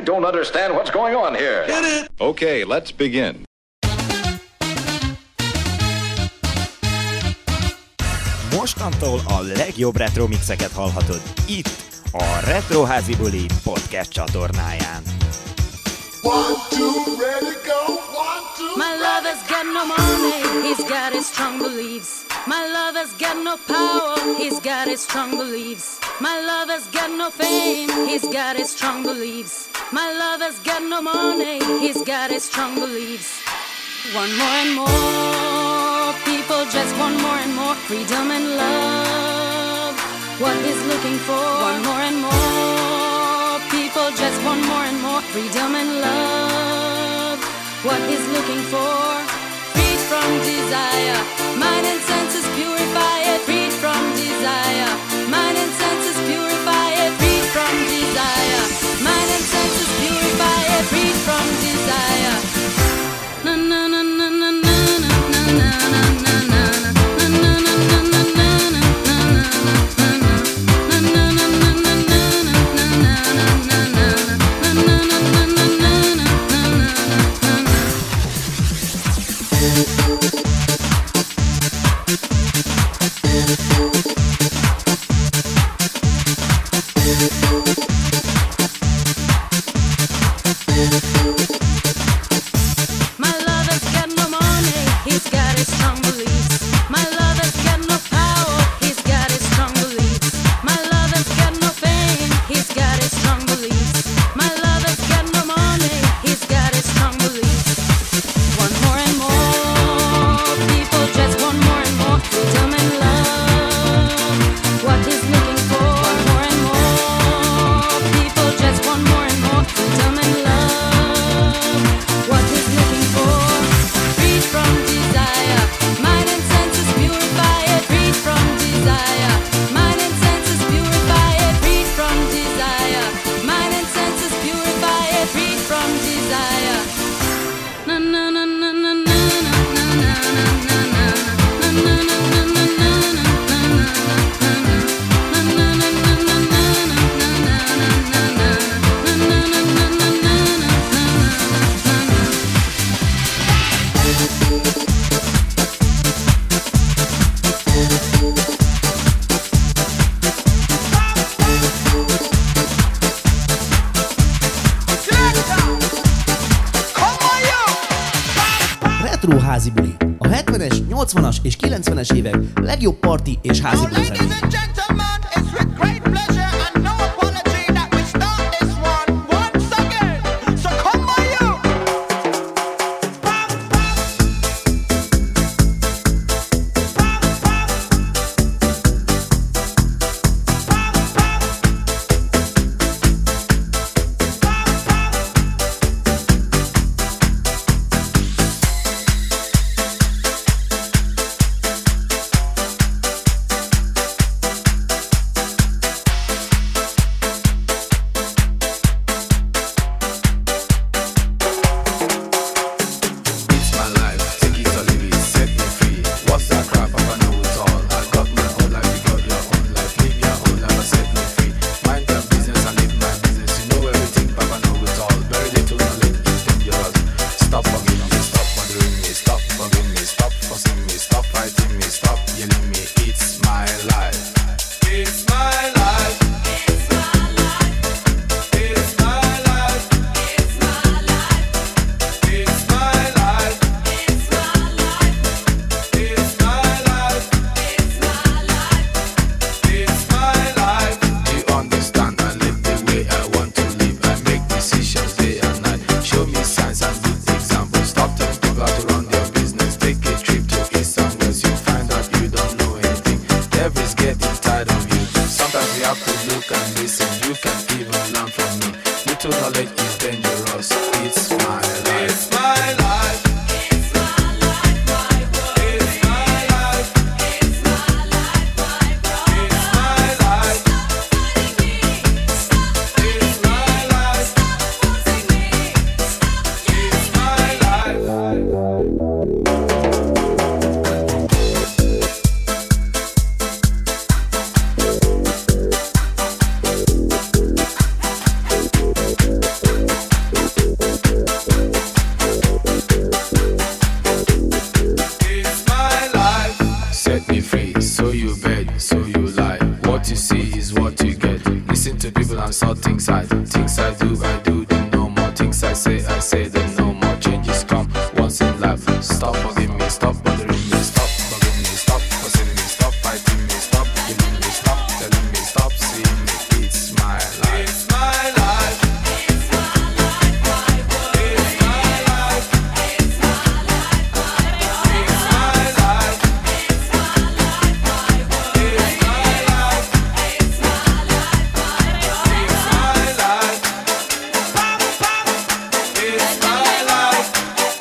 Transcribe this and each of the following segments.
don't understand what's going on here. Get it? Okay, let's begin. Mostantól a legjobb retro mixeket hallhatod itt, a Retroházi Buli podcast csatornáján. 1, 2, ready, go. 1, 2. My lover's got no money, he's got his strong beliefs. My lover's got no power, he's got his strong beliefs. My lover's got no fame, he's got his strong beliefs. My lover's got no money, he's got his strong beliefs. One more and more, people just want more and more freedom and love. What he's looking for, one more and more, people just want more and more freedom and love. What he's looking for, freed from desire, mind and senses purify it, freed from desire, mind and senses purify it, freed from desire, mind and senses purify it, freed from desire. Na na na na na na na na na na na na. Házi buli. A 70-es, 80-as és 90-es évek legjobb parti és házi buli zenék. hustle and saw things I do, them no more. Things I say them no more. Changes come once in life. Stop bugging me, stop bothering me, stop bugging me, stop fussing me, stop fighting me, stop killing me, stop telling me, stop seeing me. It's my life. It's my life. It's my life. It's my life. It's my life. It's my life. It's my life. It's my life. It's my life. It's my life.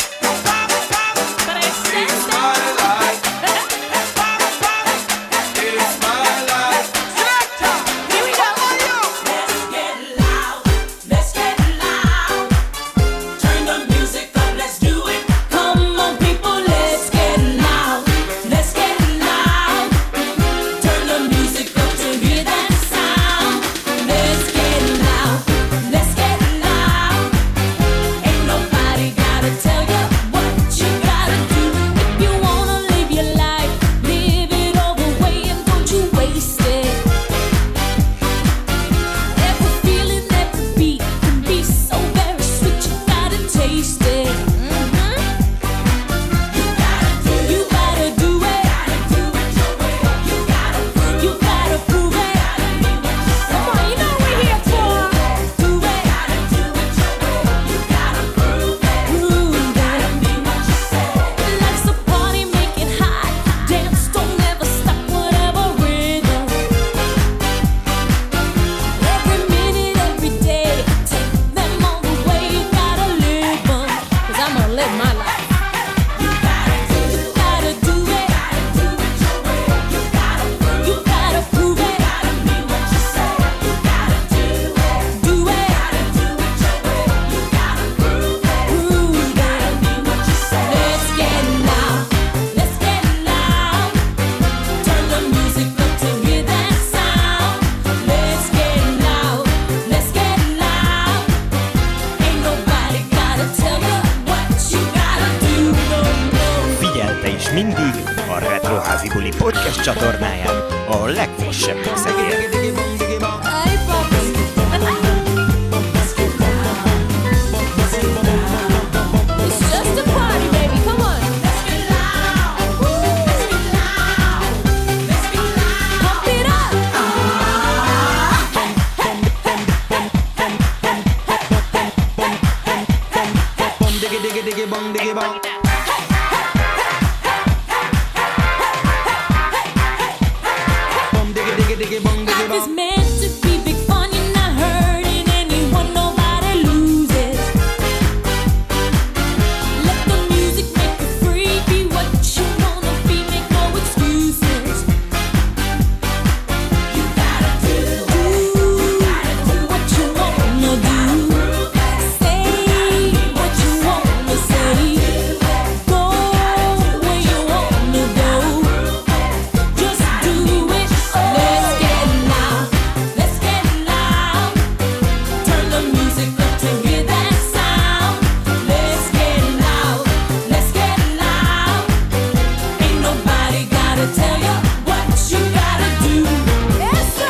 Podcast csatornáján a legfrissebb mixekért. Life is meant to be big fun, you're not hurting anyone, nobody loses. Let the music make you free, be what you wanna be, make no excuses. You gotta do what you wanna do. Say what you wanna say. Go where you wanna go. Just do it. Let's get loud. Let's get loud. Turn the music up to hear that sound. Let's get loud. Let's get loud. Ain't nobody gotta tell you what you gotta do. Eso.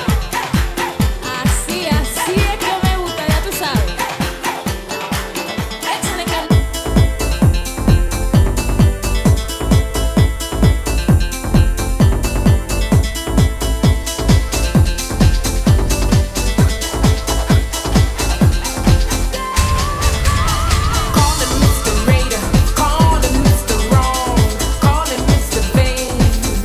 Así es que me gusta, ya tú sabes. Échale Call him Mr. Raider, call him Mr. Wrong, call him Mr. Vain.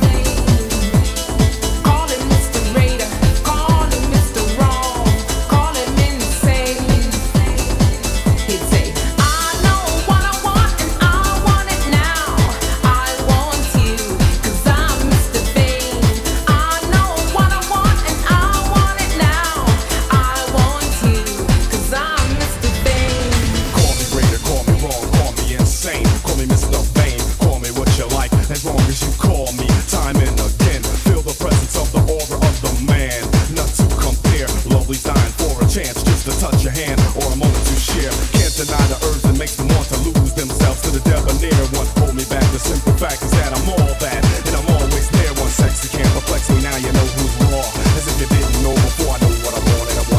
Call him Mr. Raider, call him Mr. Wrong, call him insane. He'd say, I know what I want and I want it now. I want you, 'cause I'm Mr. Vain. I know what I want and I want it now. I want you, 'cause I'm Mr. Vain. Call me greater, call me wrong, call me insane. Call me Mr. Vain, call me what you like, as long as you call me time and again. Feel the presence of the aura of the man. Not to compare, lovely's dying for a chance just to touch your hand or a moment to share. Can't deny the urge that makes them want to lose themselves to the debonair one. Hold me back, the simple fact is that I'm all that, and I'm always there. One sexy can't perplex me, now you know who's raw. As if you didn't know before, I know what I want and I want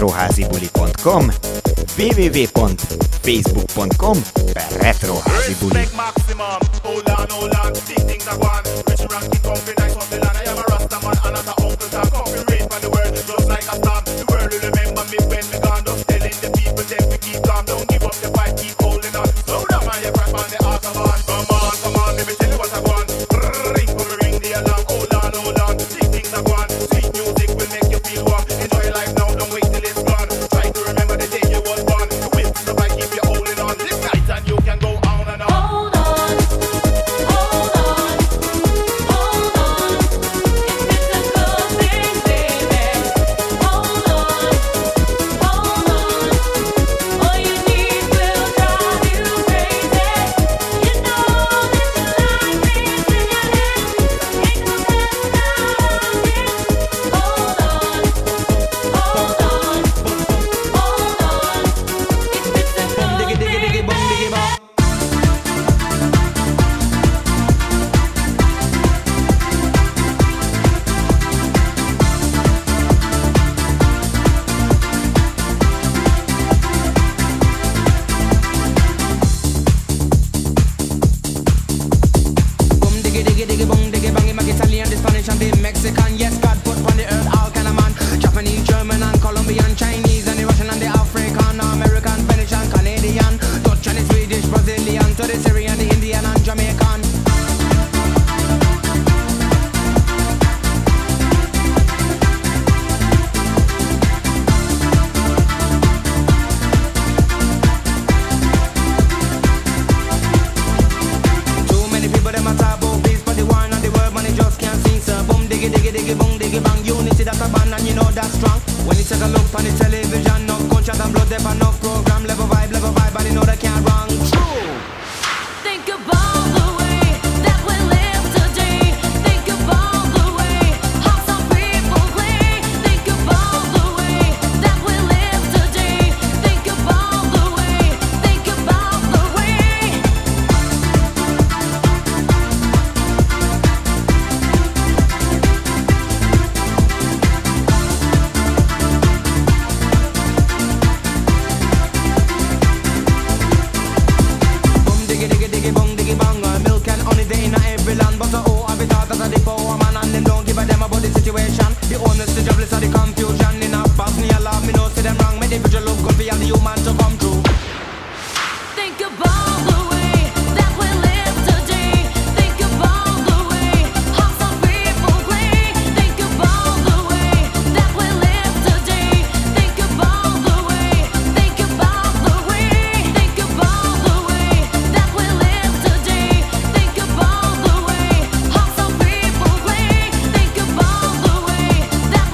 retroházibuli.com, www.facebook.com/retroházibuli. Maximum, hold on, big things are gone. Rich ranking, comfy, nice on the land. I am a Rasta man, and I'm the uncle that coffee rain from the world, just like a storm. The world will remember me when we gone. Just telling the people, then we keep calm. Don't give up the fight, keep holding on. Slow down, man, you crack on the autobahn. Come on, let me tell you what I want. Ring for me, ring the alarm. Hold on, big things are gone. Sweet music will make you feel warm. Enjoy your life now, don't wait till it's gone. Try to remember the day you was born. The wisdom of I keep you holding on. This night and you can go on and on. Hold on, hold on, hold on. It's physical thing, baby. Hold on, hold on. All you need will drive you crazy. You know that you like this in your head. Ain't no messing around it. Hold on, hold on, hold on. It's physical Diggy, diggy, diggy, bum, diggy, bum. Boom diggy diggy diggy boom diggy bang. Him a Italian, the Spanish and the Mexican. Yes, God put on the earth all kind of man. Japanese, German and Colombian, Chinese and the Russian and the African, American, Venetian, Canadian, Dutch and the Swedish, Brazilian, to the Syrian, the Indian and Jamaican. Too many people them a talk about peace, but the war and the world man they just can't sing. So boom diggy diggy diggy boom diggy bang. Unity that's a band and you know that's strong. When you take a look on the television, no gunshot and blood, there no program, level vibe, and you know they can't wrong. True. Think about the way that we live today. Think about the way how some people play. Think about the way that we live today. Think about the way. Think about the way. Boom diggy diggy diggy boom diggy bang. Milk and honey they in every land, but oh, I be thought that the power man and them don't give a damn about the situation. The honest, the jobless, and the confusion in a box. Me alarm, me know see them wrong. Me the future look good for all the human to come true. Think about the way that we live today. Think about the way how some people play. Think about the way that we live today. Think about the way. Think about the way. Think about the way that we live today. Think about the way how some people play. Think about the way that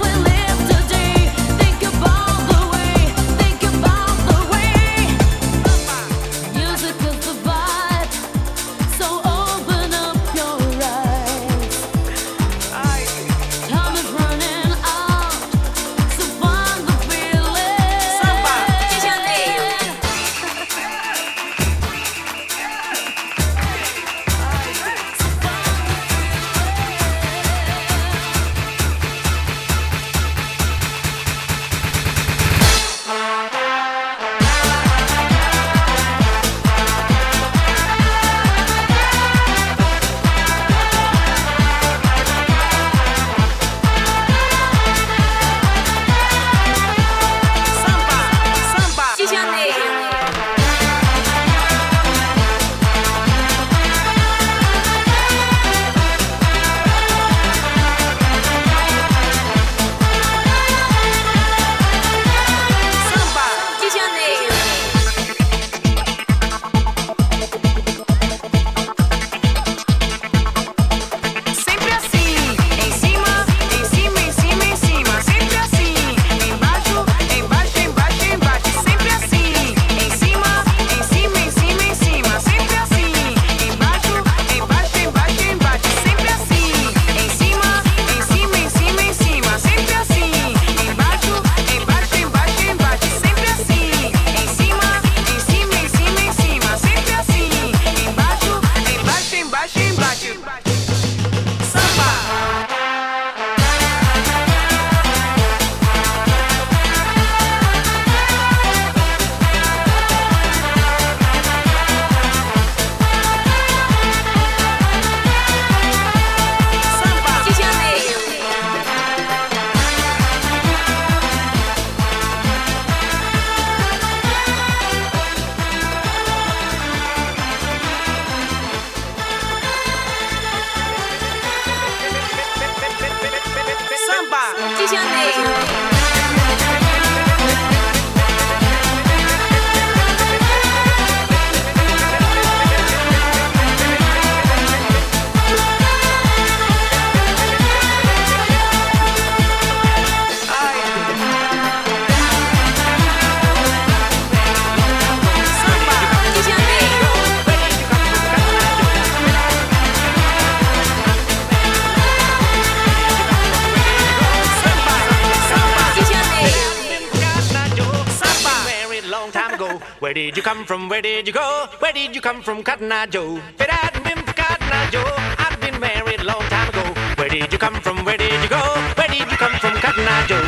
Where did you come from? Where did you go? Where did you come from, Cotton Eye Joe? If it hadn't been for Cotton Eye Joe, I'd been married a long time ago. Where did you come from? Where did you go? Where did you come from, Cotton Eye Joe?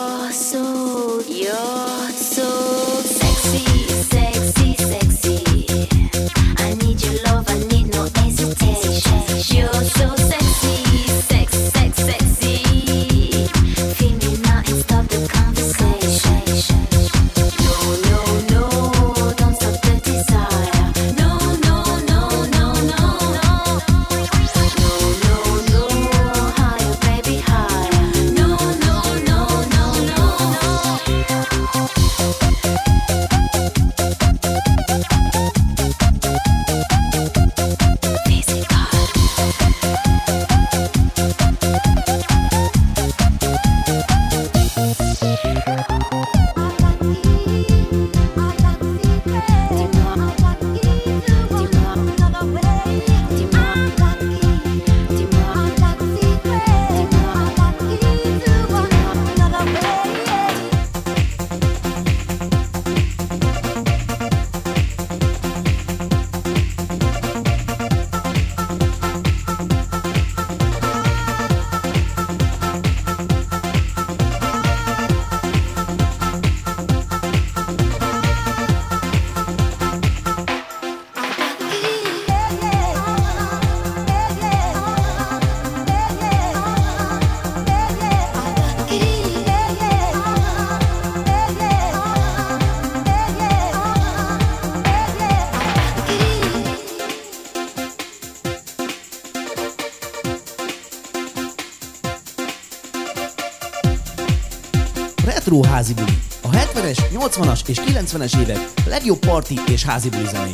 You're so sexy, sexy, sexy. Retro házi buli. A 70-es, 80-as és 90-es évek legjobb parti és házi buli zenéi.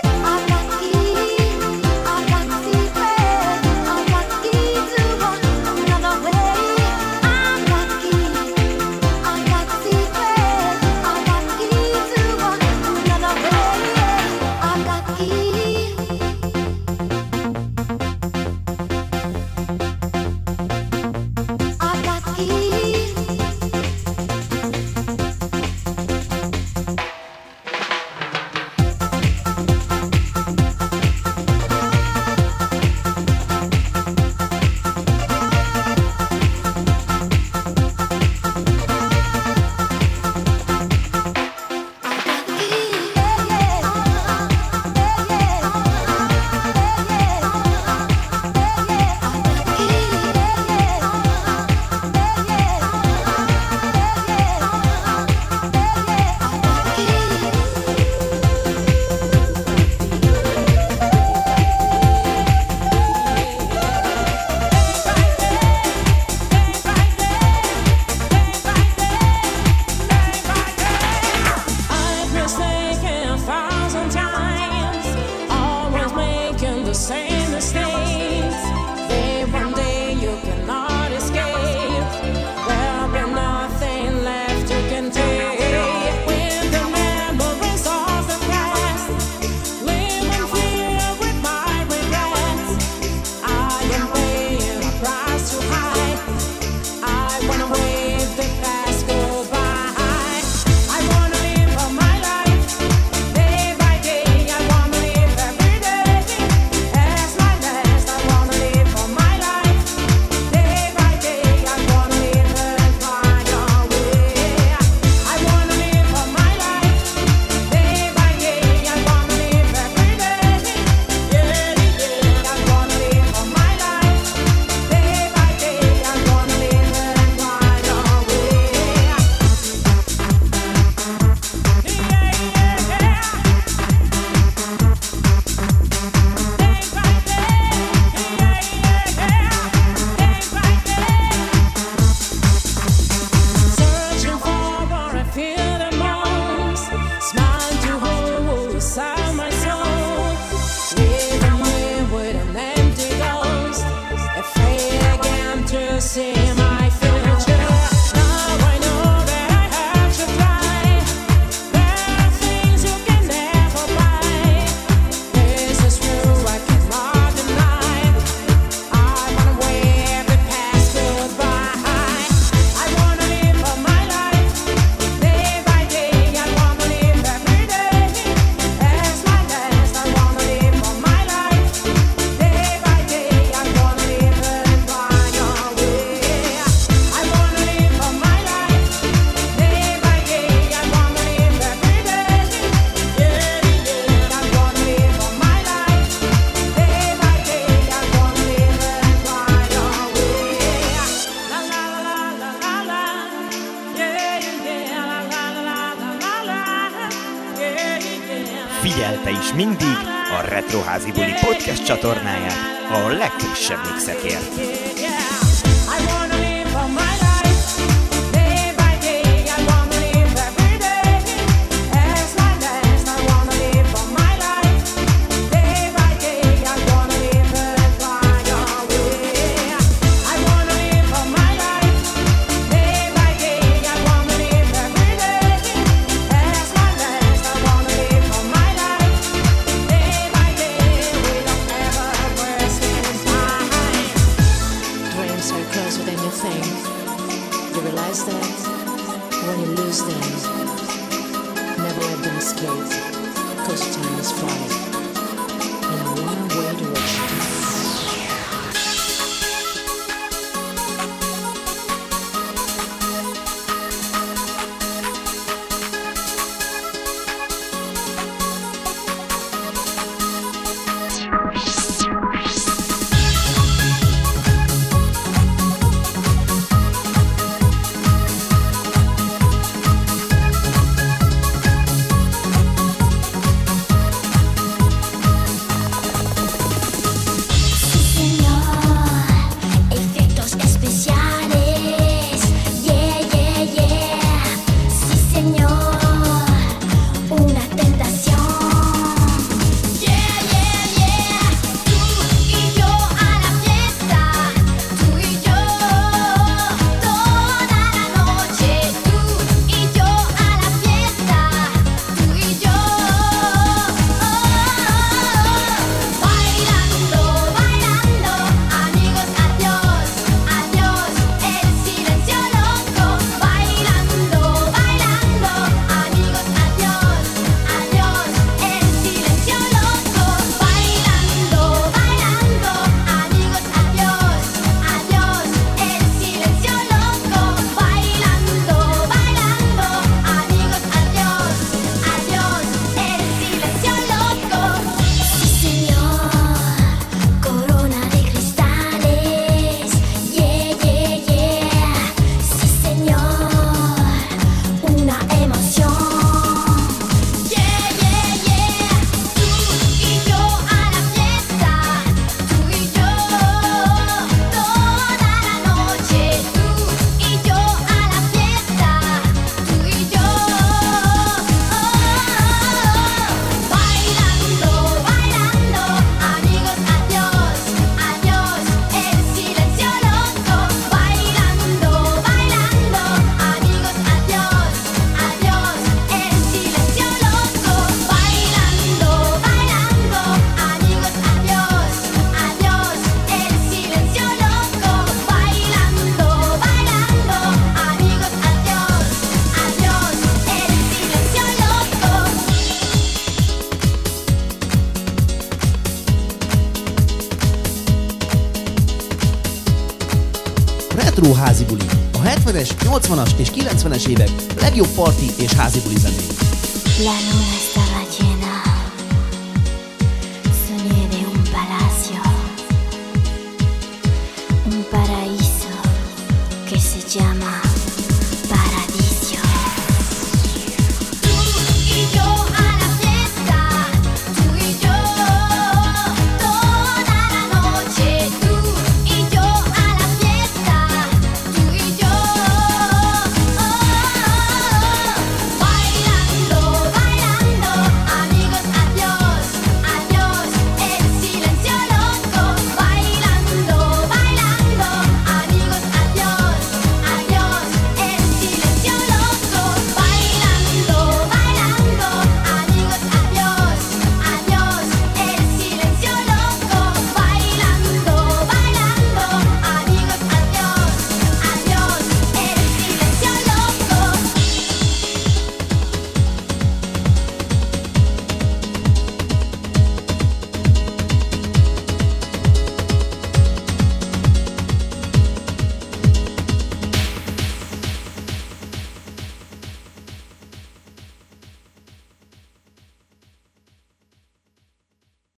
Figyelte is mindig a Retro Házi Buli podcast csatornáját a legfrissebb mixekért. I wanna live for my life, day by day. I wanna live every stand. Never let them escape, cause time is flying in a one-way direction. Retro házi buli. A 70-es, 80-as és 90-es évek legjobb parti és házi buli zenék. La luna está